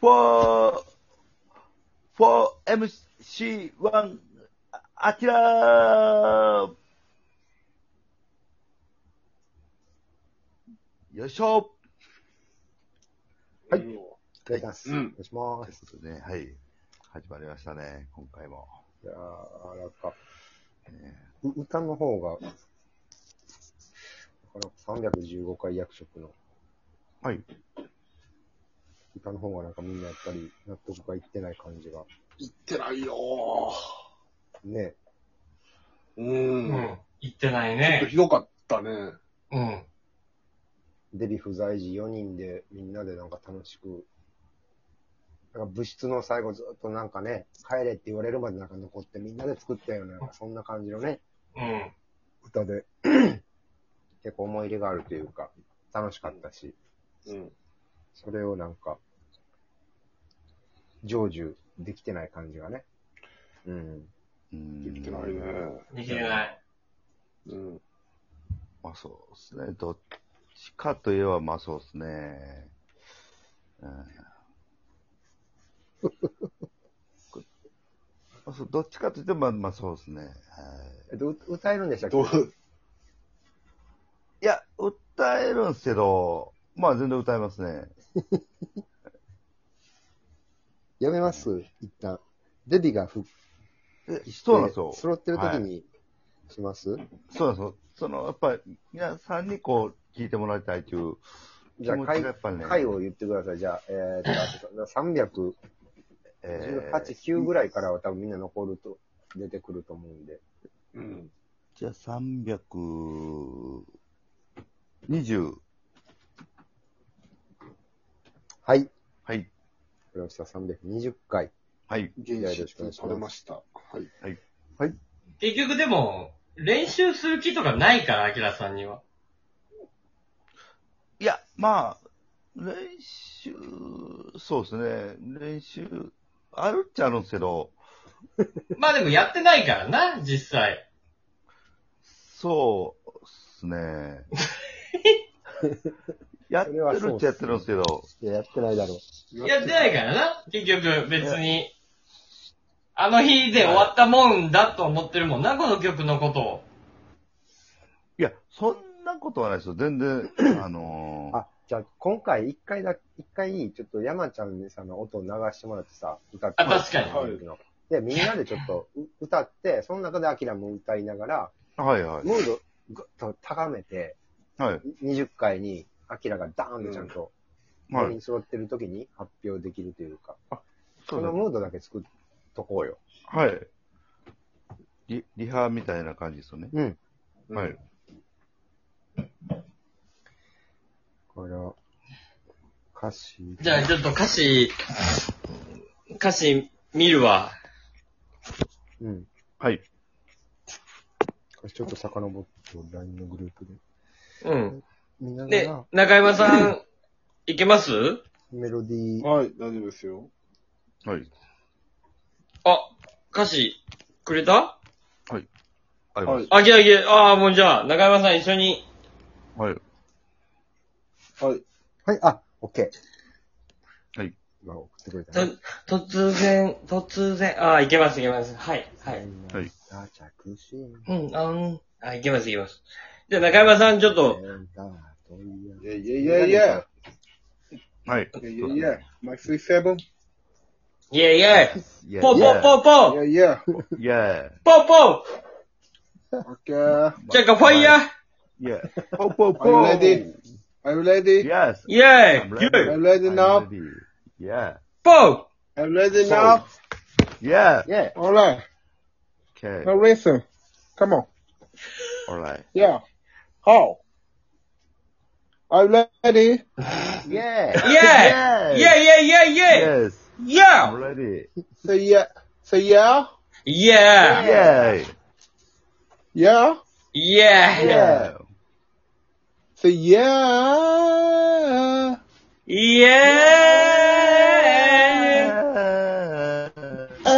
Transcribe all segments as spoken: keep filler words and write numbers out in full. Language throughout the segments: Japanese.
for, for エムシーワン、アキラーよいしょはい。 うんお願いします。 うんお願いしまというす。 ことでね、はい。始まりましたね、今回も。 いやー、なんか、 ねう歌の方が、さんびゃくじゅうごかい役職のはい。 歌の方がなんかみんなやっぱり納得がいってない感じが。 言ってないよね。 ー。う。 うんん。言ってないね。 ちょっとひどかったね。 うん。 デビ不在時よにんでみんなでなんか楽しく、なんか部室の最後ずっとなんかね、帰れって言われるまでなんか残ってみんなで作ったような、なんかそんな感じのね、 うん。 歌で、結構思い入れがあるというか、楽しかったし、 うん。 それをなんか、成就できてない感じがね。うん。 うんできてないね。 できてない。 うん。 まあそうですね。どっちかといえば、まあそうですね。うんまあそうどっちかといっても、まあ、まあそうですね。はいえっと、う歌えるんでしたっけどう、 いや、歌えるんですけど、まあ全然歌えますね。 やめます一旦。デビが復え帰して、 そうなんですよ。 揃ってる時はいにします、 そうなんですよ。その、やっぱり、皆さんにこう、聞いてもらいたいという気じゃあ、 持ち回、 がやっぱりね。 回を言ってください。じゃあ、えー、っと、さんびゃくじゅうはち、 えーきゅうぐらいからは多分みんな残ると、出てくると思うんで。 うん。 じゃあさんびゃくにじゅう。 はい。わかはい。 りました。さんびゃくにじゅっかい。 はい。 原始取れました。はい。 はい。 結局でも、練習する気とかないから、アキラさんには。 いや、まあ、練習、そうですね。練習、あるっちゃあるんですけど、 まあでもやってないからな、実際。 そうですね。やってるっちゃやってるんですけど、 いや、やってないだろう。 やってないからな、結局、別に。あの日で終わったもんだと思ってるもんな、この曲のことを。 いや、そんなことはないですよ。全然、あのー、 あ、じゃあ、今回一回だ、一回、ちょっと山ちゃんにさ、の音を流してもらってさ、歌って。 あ確かにはいで、みんなでちょっとう歌って、その中でアキラも歌いながら、 はいはい。 ムードぐっと高めて、 はい。 にじゅっかいにアキラがダーンとちゃんと、 はい。 全員揃ってる時に発表できるというか、 そだそうのムードだけ作っとこうよ。 はい。リ、リハみたいな感じですよね。 うん。 はい。 これは、歌詞。 じゃあちょっと歌詞、歌詞見るわ。 うん。 はい。 歌詞ちょっと遡って、ライン のグループで。 うん。 見ながでら、、 中山さん、いけますメロディー、 はい、大丈夫ですよ。 はい。 あ、歌詞、くれたあります。 あ、じゃあ、いけ、ああ、もうじゃあ、中山さん一緒に。 はい。 はい。 はい、あ、オッケー。 はい。 今送ってくれたね。 と、突然、突然、ああ、いけます、いけます。はい、はい。 はい。 あ、着信。 うん、あん、あ、いけます、いけます。じゃあ、中山さん、ちょっと、 いやいやいやいや。 はい。 いやいやいや。マイスリーセブン。 イェイイェイイェイポーポーポーポーいやいや。 イェポーポオッケー。 ーチェックファイヤーーイェイポーポーポ Are ー you ready? Are you ready? Yes. イェ I'm イ ready. Are you ready I'm now? ready. Yeah. ポー Are you ready now? Yeah. Yeah. Alright. Okay. Now listen. Come on. Alright. Yeah. How? Are you ready? Yeah. イェイイェイイェイイェイイェイイェイ Yes. I'm イェ ready. Say yeah. Say yeah. イイェイ Yay. Yeah. イェイ Yeah. Say yeah. イエーイ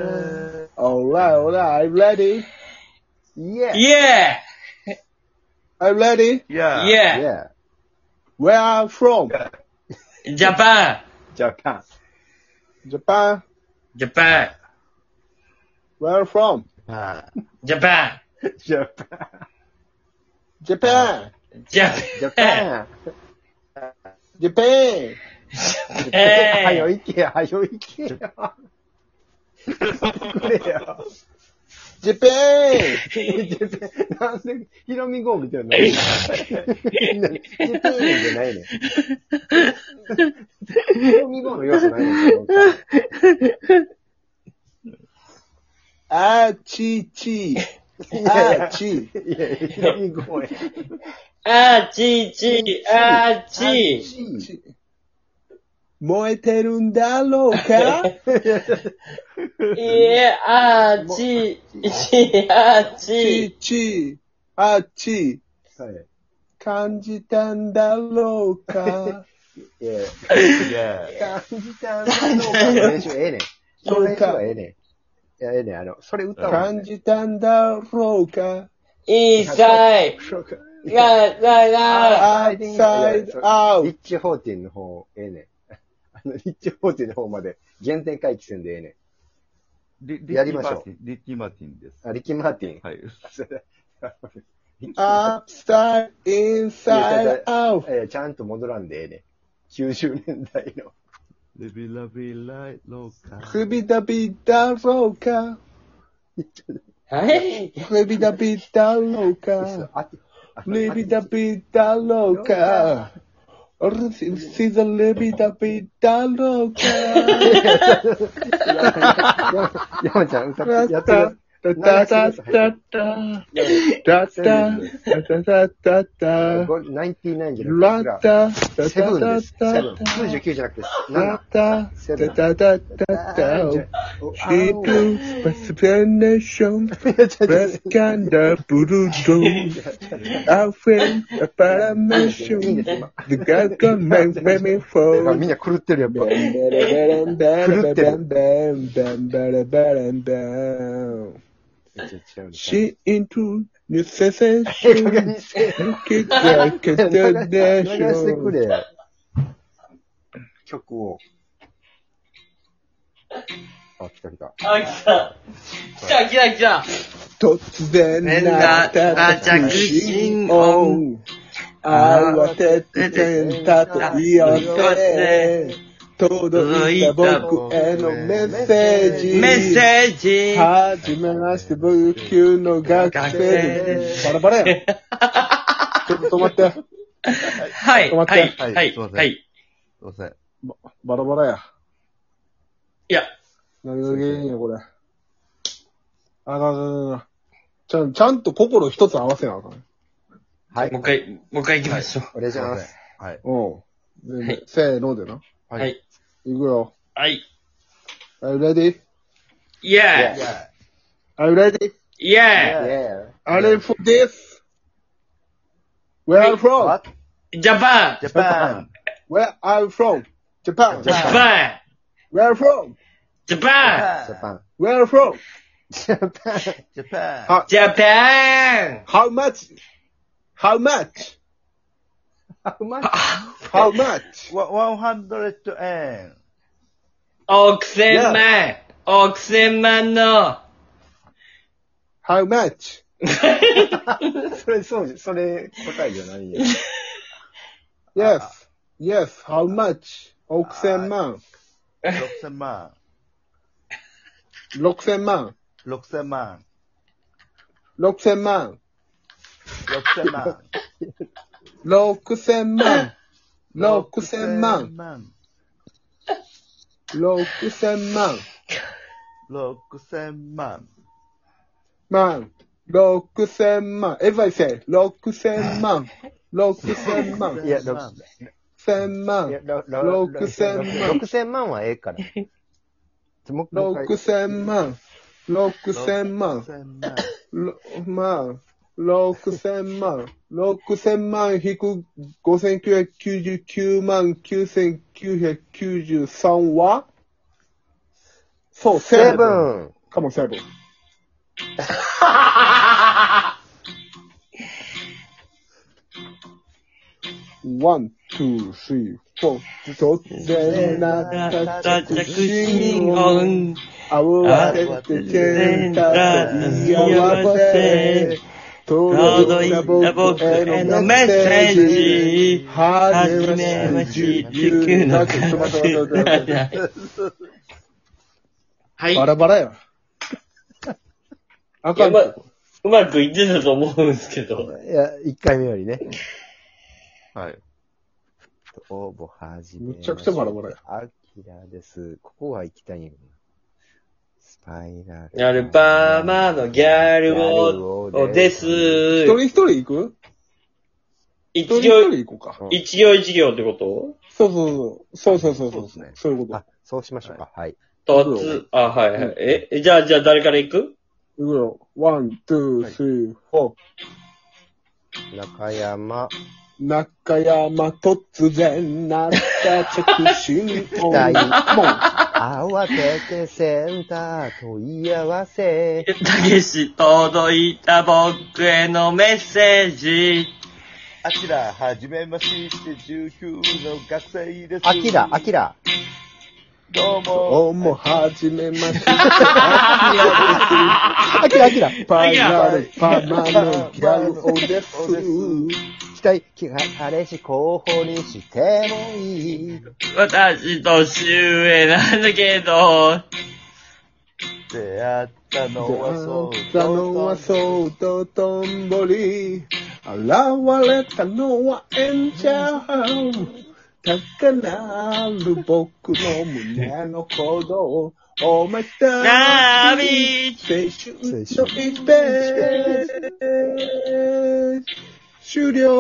Alright, alright. I'm ready. Yeah. イエーイ Are you ready? Yeah. Yeah. Yeah. Where are you from? Japan. Japan. Japan. Japan. Where are you from? Ah, Japan. Japan. Japan. Japan. Japan. Japan. はよえ行けよ、はよ行けよ。くれよ。 Japan. なんで、ヒロミ号みたいな。ジャパンじゃないねん。ヒロミ号の要素ないねん。 あちち。あち。 いや、ヒロミ号や。 あちち、あち。 燃えてるんだろうかいえ、あち、ち、あちち。 ち。あち。 はい。 感じたんだろうかいや、 yeah. 感じたんだろうかの練習ええねん。その練習はええねん。いや、ええねん。あの、それ歌う感じたんだろうかイーサイそうか。 ド、ラ、ラ、ラ。 アウトサイドアウリッチフォーティンの方、ええねん。あの、リッチフォーティンの方まで原点回帰せんでええねリリやりましょうリッキー・マーティンです。 ん。あ、リッキー・マーティン。 はい。 それリッキーアップサイド、インサイドアウト。 えーちゃんと戻らんでええねん。きゅうじゅうねんだいの。 レビラビライローカフビダビだろうかはい。 フビダビだろうかあレビダビだろうかシザレビダビだろうか山ちゃん歌って、やってる。 タタタタタタタタタタタこれナインティナインじゃラなくて、 タセブンです。セタブン。きゅうじゅうきゅうじゃなくて、 ラなタセブン。 タタタタ She do explanation Breast cancer brutal I feel a paramation The God can make me だからみ fall んな狂ってるやっぱ。 Bam, bam, bam, bam, bam, bam, bam, bam. 違う She into new sensation ええ加減にせえ。 Kick like a 流してく donation れよ。曲を。あ、来た来た。 あ、来た。来た、来た、来た。 突然なった着信音慌てて洗濯機寄せ届いた僕へのメッセージメッセージ。 はじめまして、僕級の学生です。バラバラやん。ちょっと止まって。 はい、 止まってはい、 はいはい、 すいませんはい。 すいません。 バラバラや。 いや、 何が原因や、これ。あかんあかんあかん。ちゃん、ちゃんと心一つ合わせなあかん。 はい。 もう一回、もう一回行きましょお願いします。 はい。 うん。ではいせーのでな。 う。 ははいい。 いくよ。 はい。 Are you ready? Yeah! Are you ready? Yeah! Yeah. Are you ready for this? Where are you from? What? Japan! Japan! Where are you from? Japan. Japan! Where are you from? Japan! ジャパン。 Where are you from? ジャパン。 Japan! How, Japan! how much? How much? How much? How much? one hundred yen. 億千万億千万の How much? それ、そう、それ、答えじゃないよ。 Yes. Yes. How much? 億千万。 ろくせんまん。 六千万。 ろくせんまん。 六千万。 ろくせんまん。 六千万。六千万。 万。 六千万。 ろくせんまん。 万。六千万。If I say 六千万。六千万。 いや、ろ千万いや。ろろ六千万六千万はええから。もうもう一回六千万。六千万。ろ万。六千万。六千万引く五千九百九十九万九千九百九十三はそう、 セブン。 かもセブン。 ワン、ツー、スリー、フォー。突然なった着信音。慌ててセンターと言い合わせ。届いた僕へのメッセージ。はじめまして、地球のはい。 バラバラや。あかん。 うま、うまくいってたと思うんですけど。 いや、一回目よりね。 はい。 応募はじめ。 むちゃくちゃバラバラや。 アキラです。ここは行きたいんやけどな。スパイラル。 アルバマのギャルを、です。 一人一人行く一人一一行、 人行こうか。 一行一行ってことそうそうそう。そうそうそう。 そうですねそういうこと。 あ、そうしましょうか。はい。 とつ、あ、はいはい。え、えじゃあ、じゃあ誰から行く行くよ。ワン、ツー、スリー、フォー。 中山。 中山突然なった着信音。 大もう。 慌ててセンター問い合わせ。 たけし、届いた僕へのメッセージ。 あきら、はじめまして、じゅうきゅうの学生です。 アキラ、アキラ。 どうも。 どうも、はじめまして。 アキラ、アキラ。 パイナルパマのギャルオです。 期待、彼氏候補にしてもいい。 私年上なんだけど、 出会ったのはそう。 出会ったのはそうととんぼり。現れたのはエンジェル。高鳴る僕の胸の鼓動。お前たナビ青春の一ページ終了。